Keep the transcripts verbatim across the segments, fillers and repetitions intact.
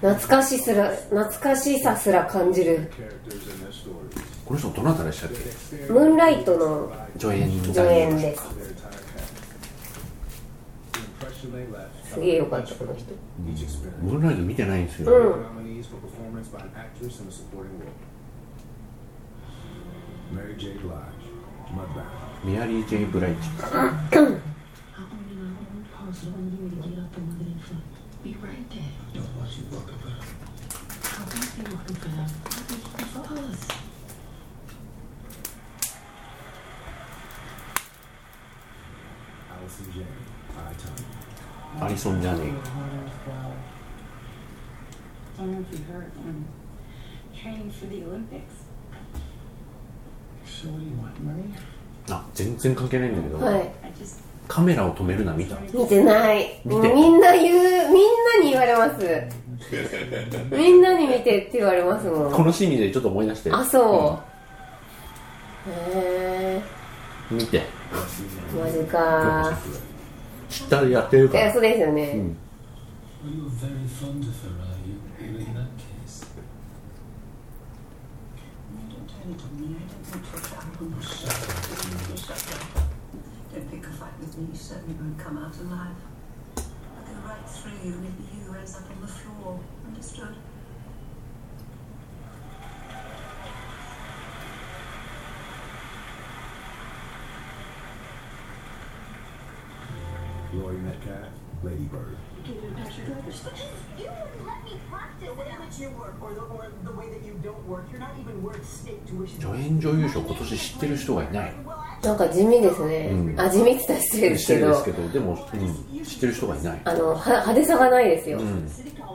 懐かしすら懐かしさすら感じる。 この人どなたでしたっけ？ ムーンライトの助演助演です。すげえよかったこの人。 ムーンライト見てないんですよ。 うん。 メアリー・ジェイ・ブライチ。アリソン・ジャネイ。あ、全然関係ないんだけど、 はい、 カメラを止めるな見た？ 見てない。 見て。 みんな言う、みんなに言われます。みんなに見てって言われますもん。 このシーンでちょっと思い出して。 あ、そう。うん、へー。見て。 マジか。 知ったらやってるから。 いや、そうですよね。うん、 You certainly won't come out alive. I'll go right through you and if you raise up on the floor. Understood? Laurie Metcalf, Lady Bird. You wouldn't let me practice. The way that you work, or the, or the way that you don't work, you're not even worth state tuition. 助演女優賞今年知ってる人がいない。 なんか地味ですね。うん、あ、地味って言ったら失礼ですけど。 失礼ですけど、でも、うん、知ってる人がいない。 あのは派手さがないですよ。うん、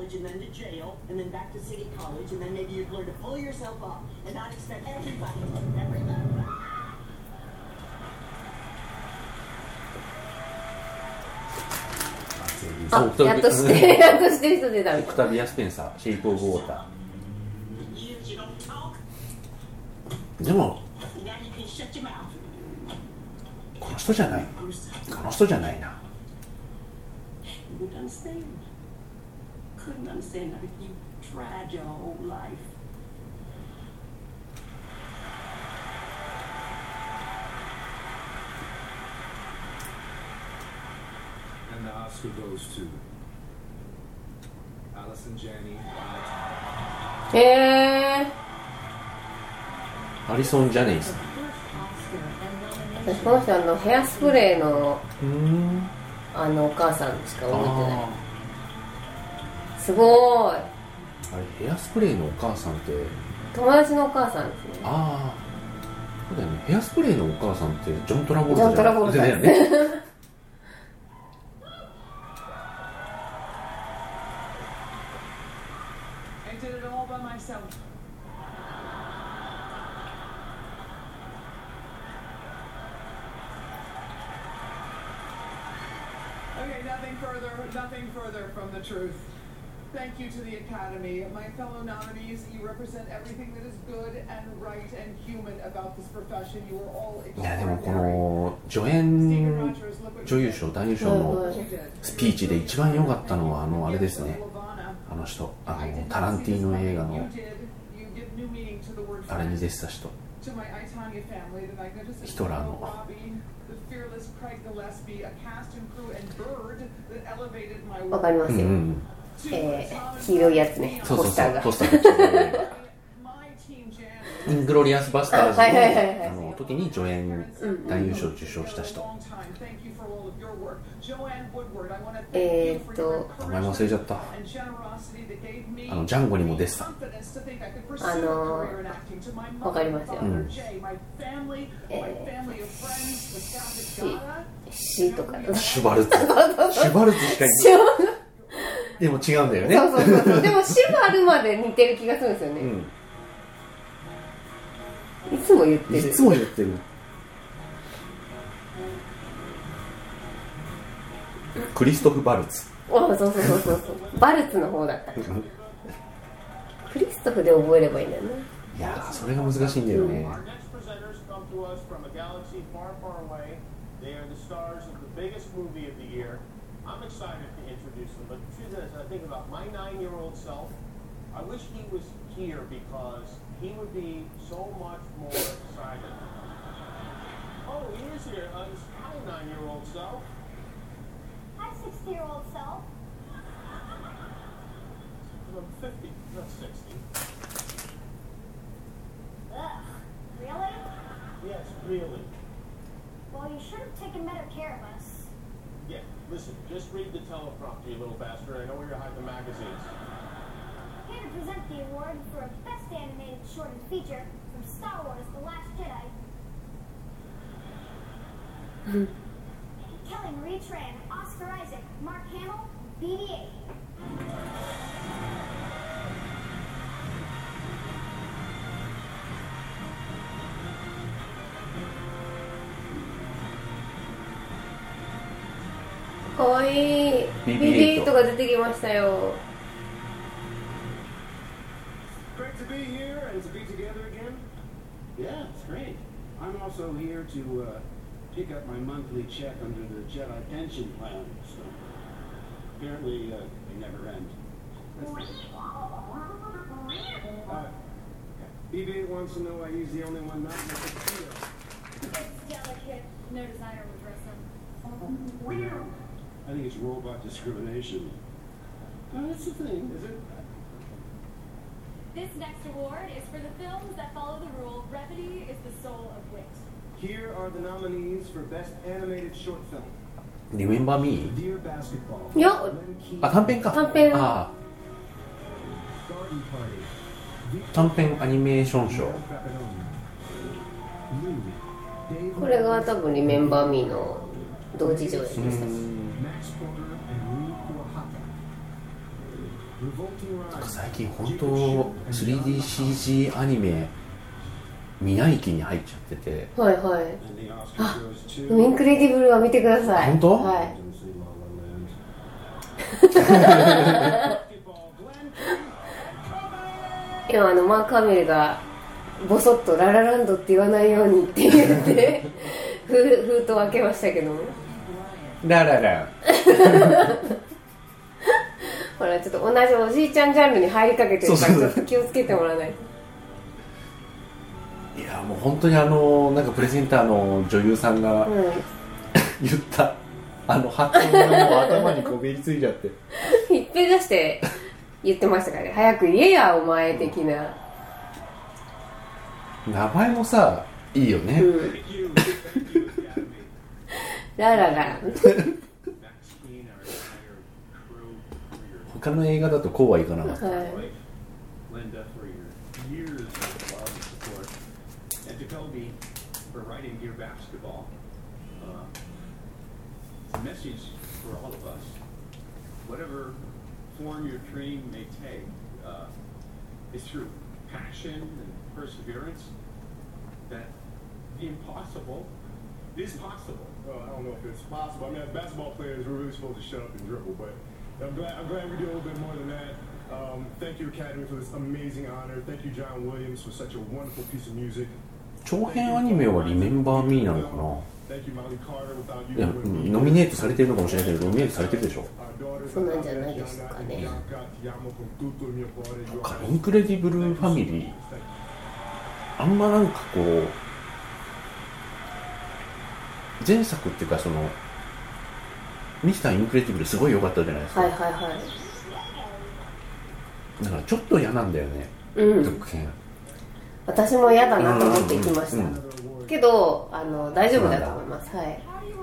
あ、やっとしてやっとしてる人出た。 オクタビア・スペンサー、シェイプ・オブ・ウォーター。でもこの人じゃない。この人じゃないな。 And the Oscar goes to Allison Janney. へー。 アリソン・ジャネイさん。 私この人あのヘアスプレーのあのお母さんしか覚えてない。すごーい。 あれヘアスプレーのお母さんって友達のお母さんですね。 ああ、そうだよね。ヘアスプレーのお母さんってジョン・トラボルタじゃん。ジョン・トラボルタだよね。 Okay, nothing further, nothing further from the truth. Thank you to the Academy. My fellow nominees, you represent everything that is good and right and human about this profession. You are all extraordinary. いやでもこの助演女優賞男優賞のスピーチで一番良かったのはあのあれですね。あの人、あのタランティーノ映画のあれに出てた人。ヒトラーの。 わかりますよ。うん、えー、黄色いやつね。 そうそうそう、 ポスターが。 ポスターがイングロリアスバスターズのあの時に助演男優賞を受賞した人。 えーっと名前忘れちゃった。あのジャンゴにも出てた。 あのわかりますよ。うん、えー、シシとかシュバルツシュバルツしかいない。でも違うんだよね。 そうそうそうそう。でもシュバルまで似てる気がするんですよね。うん、いつも言ってる。 いつも言ってる。クリストフ・バルツ。 あ、そうそうそうそうそう。バルツの方だった。クリストフで覚えればいいんだよね。 いやー、それが難しいんだよね。 I'm excited to introduce him, but the truth is, I think about my nine-year-old self. I wish he was here because he would be so much more excited. Oh, he is here. Uh, hi, nine-year-old self. Hi, sixty-year-old self. I'm fifty, not sixty. Ugh, really? Yes, really. Well, you should have taken better care of us. Yeah, listen, just read the teleprompter, you little bastard. I know where you hide the magazines. Here to present the award for Best Animated Short and Feature from Star Wars The Last Jedi. Kelly Marie Tran, Oscar Isaac, Mark Hamill, B B eight. かわいい ビービーエイト が出てきましたよ。 Great to be here and to be together again. Yeah, it's great. I'm also here to uh, pick up my monthly check under the Jedi pension plan. So apparently uh, they never end. Uh, B B eight wants to know why he's the only one not in the video. It's delicate. No designer would dress him. I think it's robot discrimination. Oh, that's the thing, is it? This next award is for the films that follow the rule, brevity is the soul of wit. Here are the nominees for Best Animated Short Film. Remember Me? Dear Basketball. いや、 あ、短編か。 短編。 ああ。短編アニメーション賞。 これが多分リメンバーミーの同時上映でした。 最近本当 スリーディーシージー アニメ宮城に入っちゃってて。 はいはい。あ、インクレディブルは見てください。 本当？ はい。今あのマーク・ハミルがボソッとララランドって言わないようにって言って封筒開けましたけども。 ラララ。 ほらちょっと同じおじいちゃんジャンルに入りかけてるからちょっと気をつけてもらわないと。 いやもう本当にあのなんかプレゼンターの女優さんが、うん、言ったあの発音がもう頭にこびりついちゃってひっぺがして言ってましたからね。早く言えやお前的な。 名前もさいいよね、うん、 ラララ他の映画だとこうはいかなかった、はい。 Jacoby for writing Dear Basketball. Uh, it's a message for all of us. Whatever form your dream may take, uh, is through passion and perseverance that the impossible is possible. Well, I don't know if it's possible. I mean, as basketball players, we're really supposed to shut up and dribble, but I'm glad, I'm glad we do a little bit more than that. Um, thank you, Academy, for this amazing honor. Thank you, John Williams, for such a wonderful piece of music. 長編アニメはリメンバーミーなのかな。いや、ノミネートされてるのかもしれないけど、ノミネートされてるでしょ。 そうなんじゃないですかね。 インクレディブルファミリー、あんまなんかこう前作っていうかそのミスターインクレディブルすごい良かったじゃないですか。 はいはいはい。 だからちょっと嫌なんだよね。 うん。 続編。 私も嫌だなと思って行きました、うんうんうん、けどあの大丈夫だと思います。はい。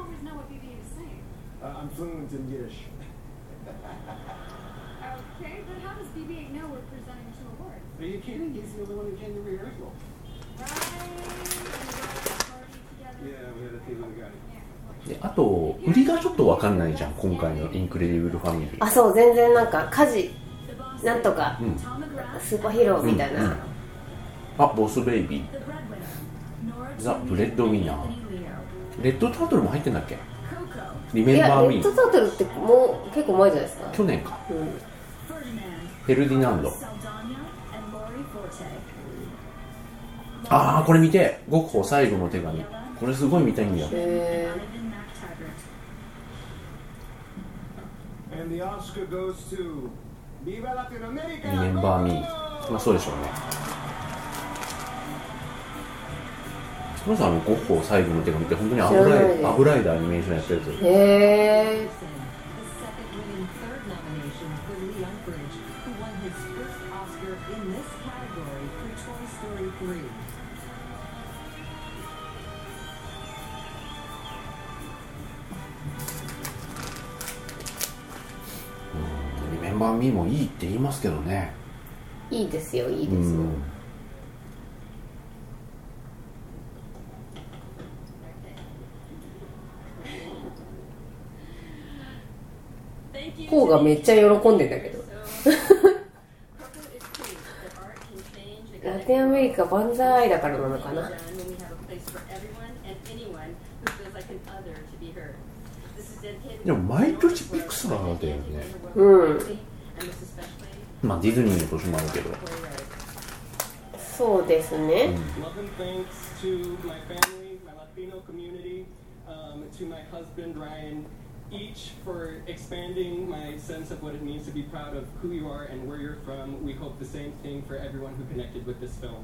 I'm fluent in Yiddish. Okay, but how does B B eight know we're presenting two awards? Are you kidding? He's the only one who came to rehearsal. Right. Yeah, we had a thing with the guy. であと売りがちょっと分かんないじゃん今回のインクレディブルファミリー。 あ、そう全然なんか家事なんとか、うん、スーパーヒーローみたいな。うんうん、 あ、ボスベイビー、ザ・ブレッドウィナー、レッドタートルも入ってんだっけ？リメンバーミー。 レッドタートルってもう結構前じゃないですか。 去年か、 うん、 フェルディナンド。あーこれ見て、ゴッホ最後の手紙、これすごい見たいんだよ。 へ And the Oscar goes to Viva Latinoamérica. Remember Me。まあそうでしょうね。その人はあのゴッホ最後の手紙って本当にアブライアブライダーアニメーションやったやつ。 へー。 リメンバーミーもいいって言いますけどね。 いいですよ、いいですよ。 うん、 ポーがめっちゃ喜んでんだけどラテンアメリカ万歳だからなのかな。 でも毎年ピクサーだよね。 うん。 まあディズニーの年もあるけど。 そうですね。 Each for expanding my sense of what it means to be proud of who you are and where you're from. We hope the same thing for everyone who connected with this film.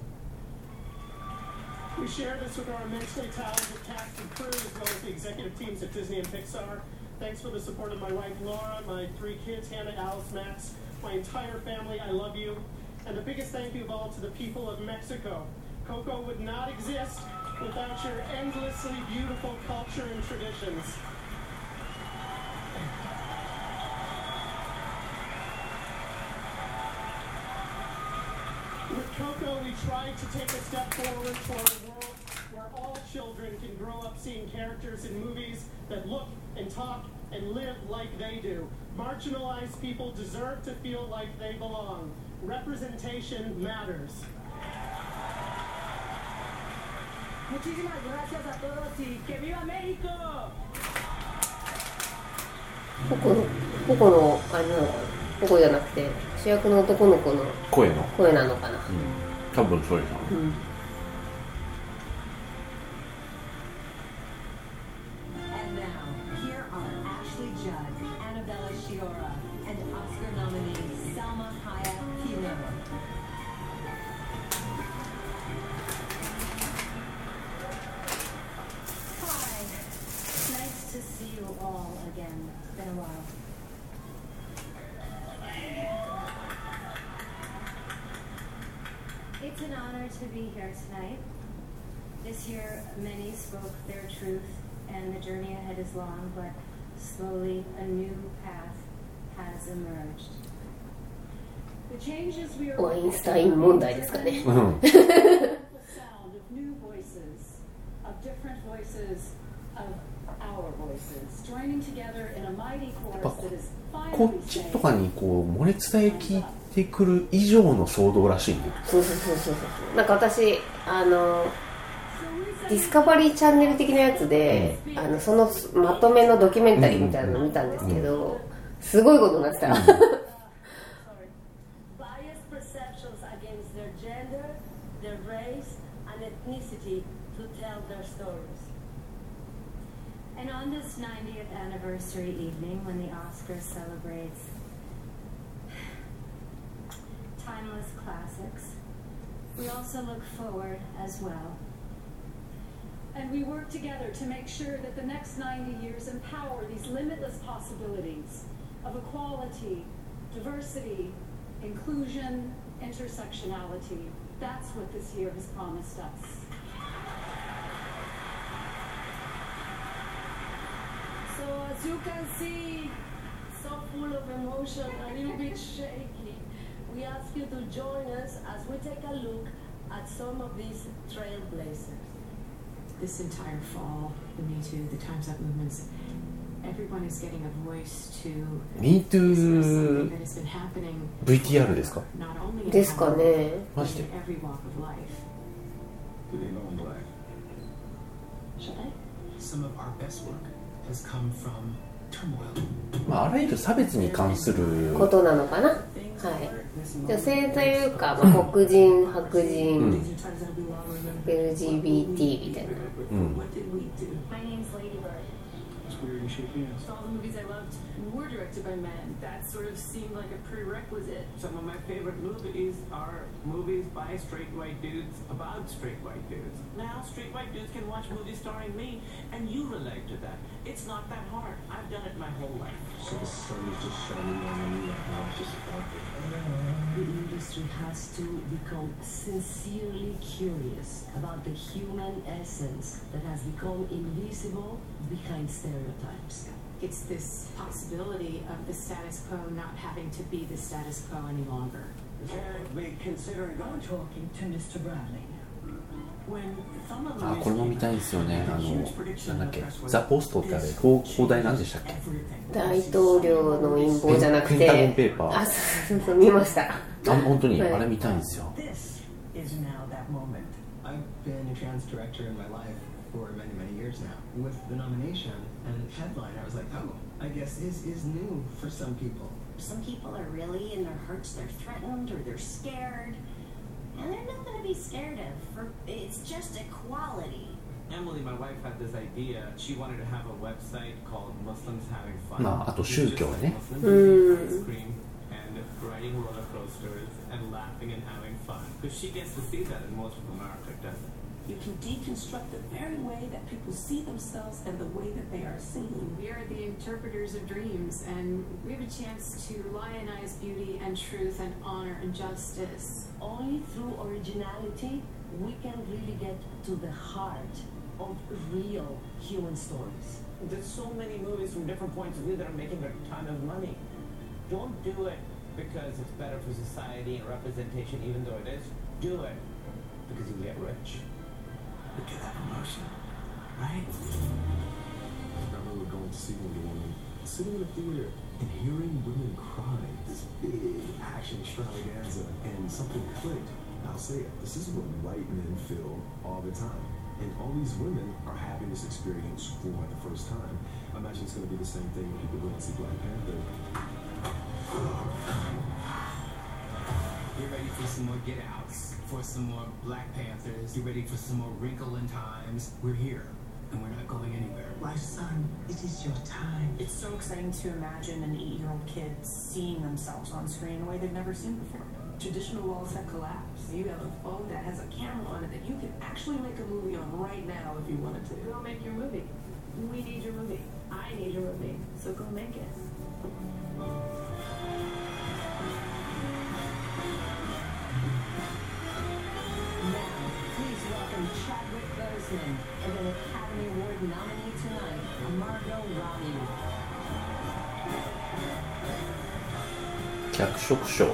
We share this with our immensely talented cast and crew, as well as the executive teams at Disney and Pixar. Thanks for the support of my wife Laura, my three kids, Hannah, Alice, Max, my entire family. I love you. And the biggest thank you of all to the people of Mexico. Coco would not exist without your endlessly beautiful culture and traditions. With Coco, we tried to take a step forward toward a world where all children can grow up seeing characters in movies that look and talk and live like they do. Marginalized people deserve to feel like they belong. Representation matters. Muchísimas gracias a todos y que viva México. ポコのポコのあれなのかな。ポコじゃなくて主役の男の子の声の声なのかな。 うん、多分そうですよね。うん。 It's an honor to be here tonight. This year, many spoke their truth, and the journey ahead is long, but slowly a new path has emerged. The changes we are ワインスタイン問題ですかね。 sound of new voices, of different voices, of our voices, joining together in a mighty chorus that is こっちとかにこう漏れ伝え聞いてくる以上の騒動らしいね。 そうそうそうそうそう。なんか私あのディスカバリーチャンネル的なやつで、うん、あのそのまとめのドキュメンタリーみたいなのを見たんですけど、うん、すごいことになってた。うん And on this ninetieth anniversary evening, when the Oscars celebrates timeless classics, we also look forward as well. And we work together to make sure that the next ninety years empower these limitless possibilities of equality, diversity, inclusion, intersectionality. That's what this year has promised us. So as you can see, so full of emotion, a little bit shaky. We ask you to join us as we take a look at some of these trailblazers. This entire fall, the Me Too, the Time's Up movements, everyone is getting a voice to Me Too that has been happening ブイティーアール ですか？ not only in ですかね。 but in every walk of life. Do they know I'm black? Should I? Some of our best work has come from turmoil. まああらゆる差別に関することなのかな。はい。女性というか、まあ、黒人、白人、うん、エルジービーティー みたいな。うん。 looks weird and shaking. All the movies I loved were directed by men. That sort of seemed like a prerequisite. Some of my favorite movies are movies by straight white dudes about straight white dudes. Now straight white dudes can watch movies starring me, and you relate to that. It's not that hard. I've done it my whole life. So the sun is just shining on me right now. It's just sparkling. The industry has to become sincerely curious about the human essence that has become invisible behind stereotypes. It's this possibility of the status quo not having to be the status quo any longer. And we considering I'm talking to Mister Bradley. あ、これも見たいんですよね。あの、なんだっけ、ザ・ポストってあれ、放題なんでしたっけ？ 大統領の陰謀じゃなくて、 ペンタゴンペーパー。 あ、そうそう、見ました。 あ、本当に、 はい、 あれ見たいんですよ。 This is now that moment. I've been a trans director in my life for many, many years now. With the nomination and headline, I was like, oh, I guess this is new for some people. Some people are really, in their hearts, they're threatened or they're scared. And there's nothing to be scared of. For, it's just equality. Emily, my wife, had this idea. She wanted to have a website called Muslims Having Fun. まあ、あと宗教ね。 うん。And riding roller coasters and laughing and having fun. Because she gets to see that and most of America doesn't. You can deconstruct the very way that people see themselves and the way that they are seen. We are the interpreters of dreams, and we have a chance to lionize beauty and truth and honor and justice. Only through originality we can really get to the heart of real human stories. There's so many movies from different points of view that are making a ton of money. Don't do it because it's better for society and representation, even though it is. Do it because you get rich. Look at that emotion, right? I remember going to see Wonder Woman, sitting in the theater and hearing women cry, this big action extravaganza, and something clicked. I'll say it, this is what white men feel all the time. And all these women are having this experience for the first time. I imagine it's going to be the same thing when people go and see Black Panther. You're ready for some more Get Outs, for some more Black Panthers. You're ready for some more Wrinkle in Times. We're here, and we're not going anywhere. My son, it is your time. It's so exciting to imagine an eight-year-old kid seeing themselves on screen in a way they've never seen before. Traditional walls have collapsed. You have a phone that has a camera on it that you can actually make a movie on right now if you wanted to. Go make your movie. We need your movie. I need your movie. So go make it. Please welcome Chadwick Boseman and an Academy Award nominee tonight, Margot Robbie. 脚色賞。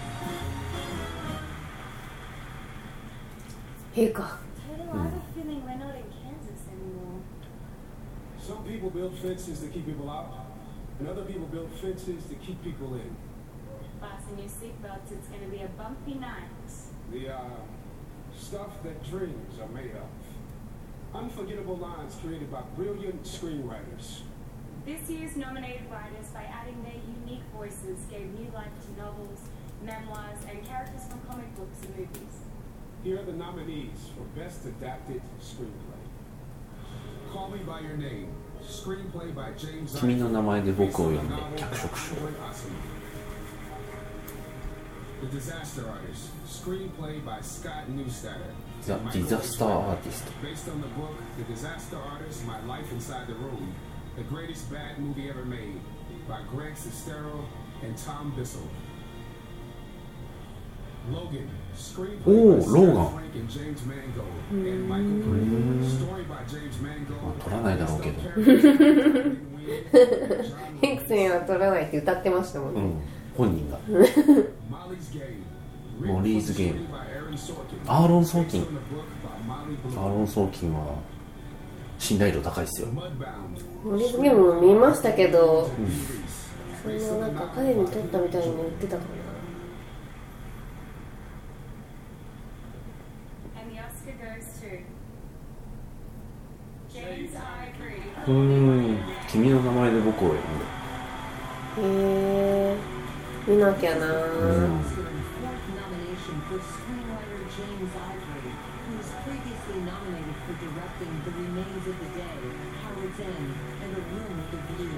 陛下。 Some people build fences to keep people out, and other people build fences to keep people in. Fasten your seatbelts, it's going to be a bumpy night. The uh, stuff that dreams are made of. Unforgettable lines created by brilliant screenwriters. This year's nominated writers, by adding their unique voices, gave new life to novels, memoirs, and characters from comic books and movies. Here are the nominees for Best Adapted Screenplay. Call Me by Your Name, screenplay by James. 君の名前で僕を呼んで脚色賞。 The Disaster Artist, screenplay by Scott Neustadter. The Disaster Artist. Based on the book The Disaster Artist: My Life Inside the Room, the greatest bad movie ever made, by Greg Sestero and Tom Bissell. Logan, screenplay Oh, by Sarah Logan. Frank and James Mangold, and Michael Green. Story by James Mangold. 取らないだろうけど。 ヘンクスには取らないって歌ってましたもんね。 うん、本人が。モリーズゲーム。アーロン・ソーキン。アーロン・ソーキンは信頼度高いですよ。 モリーズゲームも見ましたけど、うん、そんななんか彼に撮ったみたいに言ってたかな。 うーん、君の名前で僕を呼んで。 へえ、見なきゃな。 うん nomination for screenwriter James Ivory, who was previously nominated for directing The Remains of the Day, Howard's End, and A Room with a View.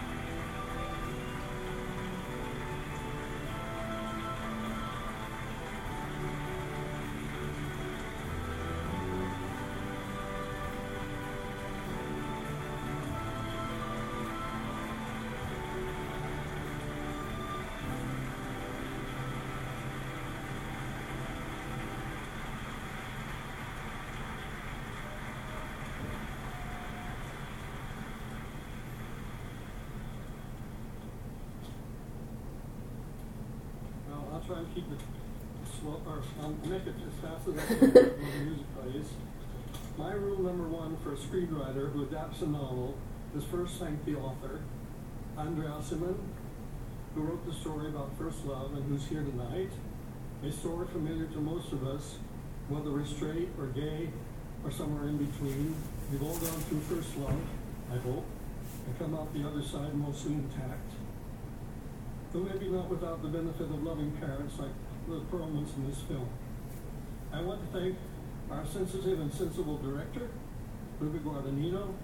I'll try and keep it slow, or um, make it as fast as I can when the music plays. My rule number one for a screenwriter who adapts a novel is first thank the author, Andrea Simon, who wrote the story about first love and who's here tonight. A story familiar to most of us, whether we're straight or gay or somewhere in between. We've all gone through first love, I hope, and come out the other side mostly intact. Though maybe not without the benefit of loving parents like the Perlmans in this film. I want to thank our sensitive and sensible director, Luca Guadagnino,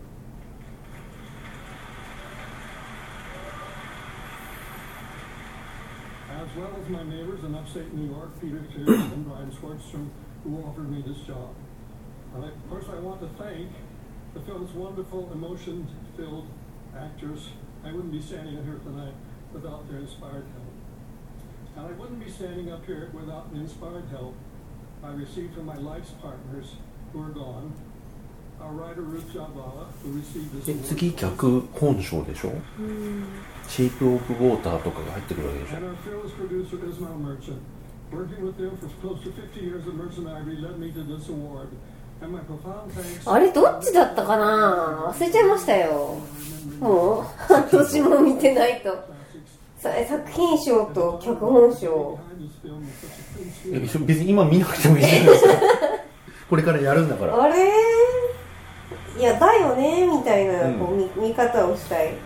as well as my neighbors in upstate New York, Peter Tiers and Brian Schwartzstrom, who offered me this job. And I, of course, I want to thank the film's wonderful, emotion-filled actors. I wouldn't be standing here tonight without their inspired help. And I wouldn't be standing up here without the inspired help I received from my life's partners who are gone. Our writer Ruth Jabala, who received this award. 次脚本賞でしょ。シェイプオブウォーターとかが入ってくるわけでしょ。 And our fearless producer Ismail Merchant. Working with them for close to fifty years at Merchant Ivory led me to this award. And my profound thanks. あれどっちだったかな、忘れちゃいましたよ。もう半年も見てないと。作品賞と脚本賞。 別に今見なくてもいいじゃないですか。これからやるんだから。 あれ、いやだよねみたいな、うん、こう 見, 見方をしたい。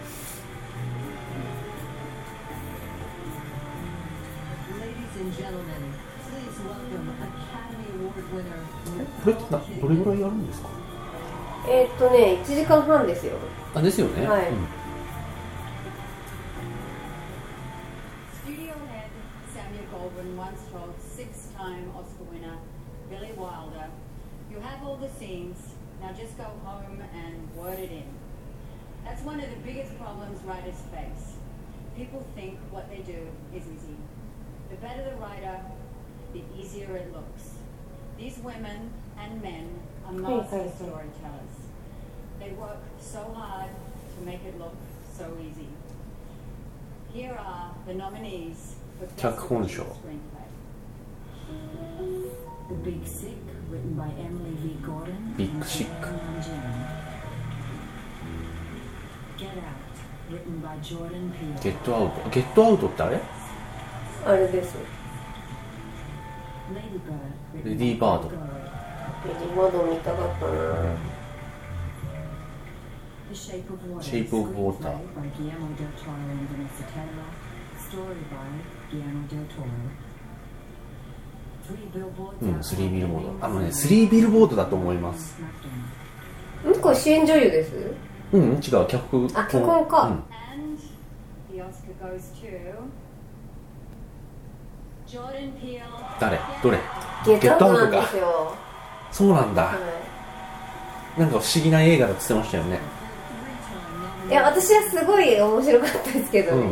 これってどれぐらいやるんですか？ えー、っとねいちじかんはんですよ。 あ、ですよね。はい。うん、 Now just go home and word it in. That's one of the biggest problems writers face. People think what they do is easy. The better the writer, the easier it looks. These women and men are master storytellers. They work so hard to make it look so easy. Here are the nominees for Best Screenplay. The Big Sick, written by Emily V. Gordon. Big Sick. Get Out, written by Jordan Peele. ゲットアウト。ゲットアウトってあれ？ あれです。 レディーバード。 レディーバード見たかったな。 The Shape of Water. Shape of Water. By Guillermo del Toro and Vanessa Tella. Story by Guillermo del Toro. うん、スリービルボード。あのね、スリービルボードだと思います。 うん、これ主演女優です。 うん、違う、脚本。 あ、脚本か。うん、 誰？どれ？ ゲットアウトなんですよ。 そうなんだ。はい、なんか不思議な映画だって言ってましたよね。 いや、私はすごい面白かったですけどね。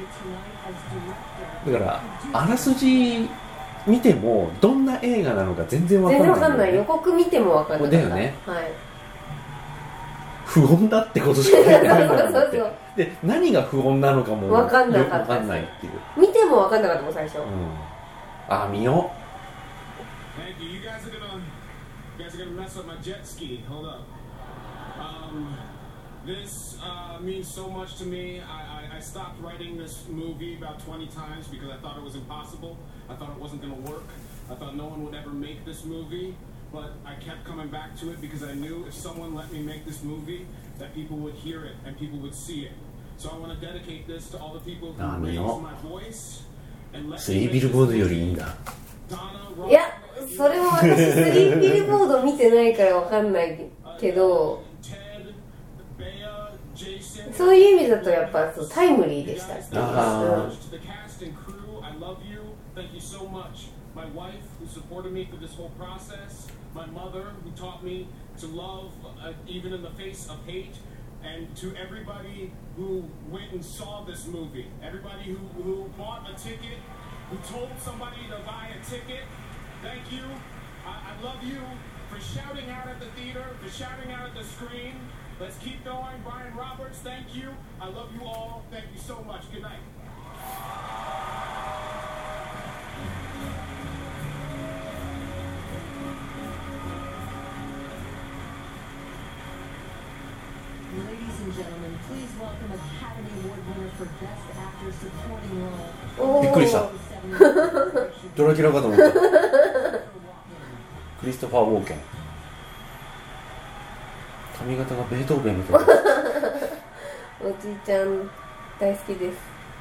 うん、だから、あらすじ見てもどんな映画なのか全然わかんない、 ね、全然わかんない。予告見てもわかんない。 だよね。 はい。 不穏だってことしか書いてないんだもんって。で、何が不穏なのかもわかんなかった。 わかんないっていう。 見てもわかんなかったもん最初。うん、 あ、見よう。Thank you. You guys are gonna, you guys are gonna mess up my jet ski. Hold up. Um, this uh, means so much to me. I, I, I stopped writing this movie about twenty times because I thought it was impossible. I thought it wasn't going to work. I thought no one would ever make this movie. But I kept coming back to it because I knew if someone let me make this movie, that people would hear it and people would see it. So I want to dedicate this to all the people who raised my voice and let me make this movie. いや、それも私スリービルボード見てないからわかんないけど、そういう意味だとやっぱそうタイムリーでしたっていう。あ My wife, who supported me through this whole process. My mother, who taught me to love uh, even in the face of hate. And to everybody who went and saw this movie. Everybody who, who bought a ticket, who told somebody to buy a ticket. Thank you. I, I love you for shouting out at the theater, for shouting out at the screen. Let's keep going. Brian Roberts, thank you. I love you all. Thank you so much. Good night. Ladies and gentlemen, please welcome Academy Award winner for Best Actor Supporting Role. びっくりした。ドラキュラかと思った。クリストファー・ウォーケン。髪型がベートーベンみたいな。 おじいちゃん大好きです。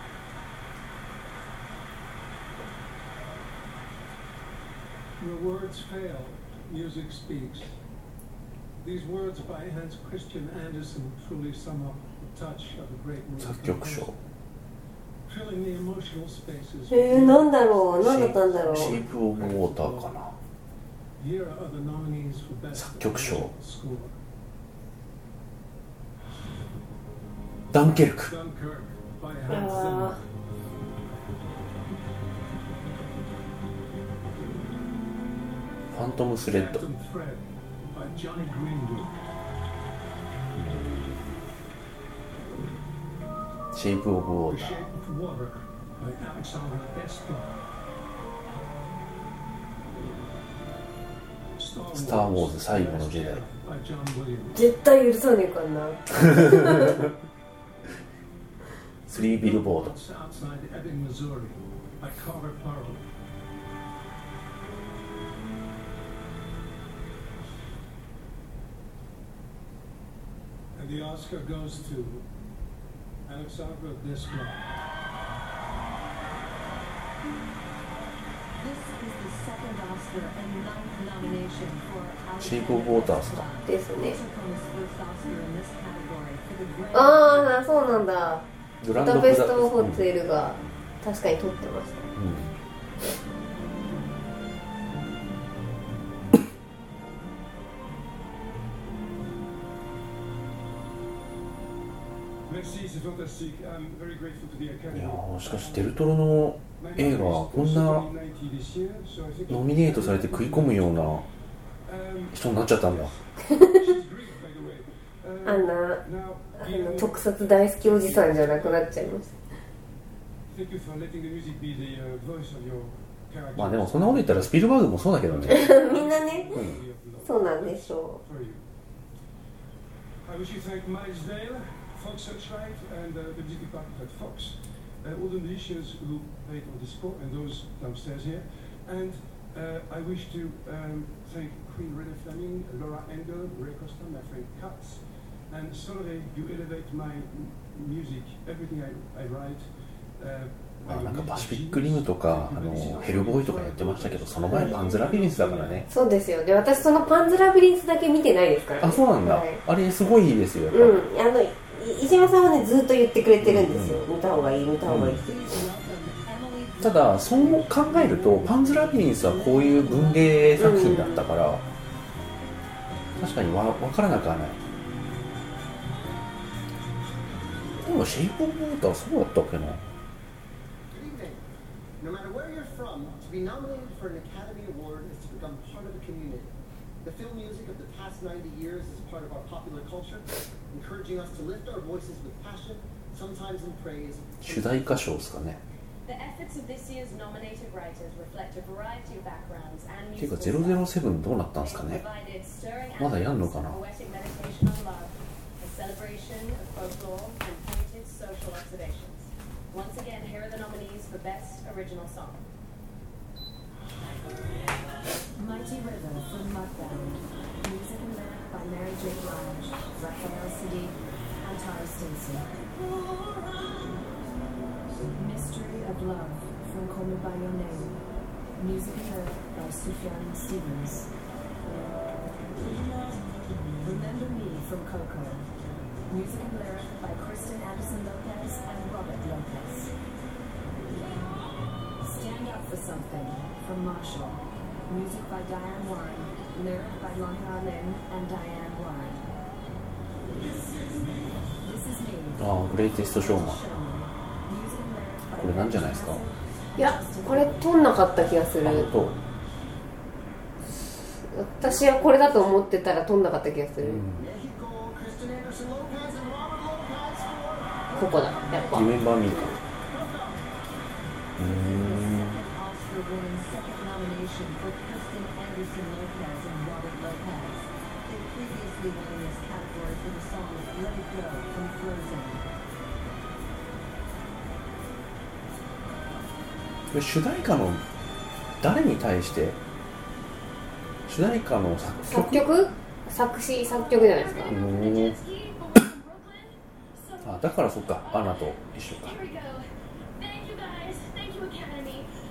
Your words fail, music speaks. These words by Hans Christian Andersen truly sum up the touch of a great movie. 作曲賞。 Filling the emotional spaces. えー、なんだろう、なんだったんだろう。 シェイプオブウォーターかな。 Here are the nominees for best 作曲賞。 score. ダンケルク。 Dunkirk by Hans Zimmer. ファントムスレッド。 Phantom Thread by Johnny Greenwood. シェイプオブウォー The ター。 Shape of Water by Alexander Desplat. スター・ウォーズ最後の時代。 by John Williams. 絶対許さねえからな。 スリービルボード。 Outside Ebbing, Missouri by Carter Parlow. And the Oscar goes to Alexandra Desplat. This is the second Oscar and ninth nomination for シェイプオブウォーターですか。 ですね。 Comes first Oscar in this category for the Grand ああ、そうなんだ。ブグランドダペストホテルが確かに撮ってました。 うん。 Merci, c'est fantastique. I'm very grateful to the い Academy. やーしかしデルトロの映画はこんなノミネートされて食い込むような人になっちゃったんだ。 あんなあの特撮大好きおじさんじゃなくなっちゃいました。 Thank you for letting the music be the uh, voice of your character. まあでもそんなこと言ったらスピルバーグもそうだけどね。 みんなね、そうなんでしょう。 I wish you thank Miles Dale, Fox Searchlight, and uh, the music department at Fox, uh, all the musicians who played on the score, and those downstairs here. And uh, I wish to um, thank Queen Rene Fleming, Laura Engel, Ray Costa, my friend Katz, and Solveig. You elevate my music, everything I, I write. Uh, まあなんかパシフィックリムとかあのヘルボーイとかやってましたけど、その前パンズラビリンスだからね。 そうですよ。で、私そのパンズラビリンスだけ見てないですから、ね。 あ、そうなんだ。はい、あれすごいいいですよ。やっぱうん、あの石山さんはねずっと言ってくれてるんですよ。うん、見た方がいい、見た方がいいって。 うん、ただそう考えるとパンズラビリンスはこういう文芸作品だったから、うん、確かにわ分からなくはない。でもシェイプオブウォーターそうだったっけな。 No matter where you're from, to be nominated for an Academy Award is to become part of a community. The film music of the past ninety years is part of our popular culture, encouraging us to lift our voices with passion, sometimes in praise. 主題歌賞ですかね。 The efforts of this year's nominated writers reflect a variety of backgrounds and ていうかゼロゼロセブンどうなったんですかね。まだやんのかな。 Once again, here are the nominees for Best Original Song. Mighty River from Mudbound. Music and lyric by Mary J. Blige, Raphael Sadiq, and Tara Stinson. Mystery of Love from Call Me By Your Name. Music and lyric by Sufjan Stevens. Remember Me from Coco. Music and lyric by Kristen Anderson Lopez and Robert Lopez. Stand Up for Something from Marshall. Music by Diane Warren. Lyric by Lonnie Arlin and Diane Warren. This is Me. ああ、グレイテストショーマン。これなんじゃないですか。 いや、これ撮んなかった気がする。私はこれだと思ってたら撮んなかった気がする。うん、ここだ、やっぱ。 リメンバーミーか。うーん。これ主題歌の誰に対して主題歌の作曲作曲作詞作曲じゃないですか。 あ、だからそっか、アナと一緒か。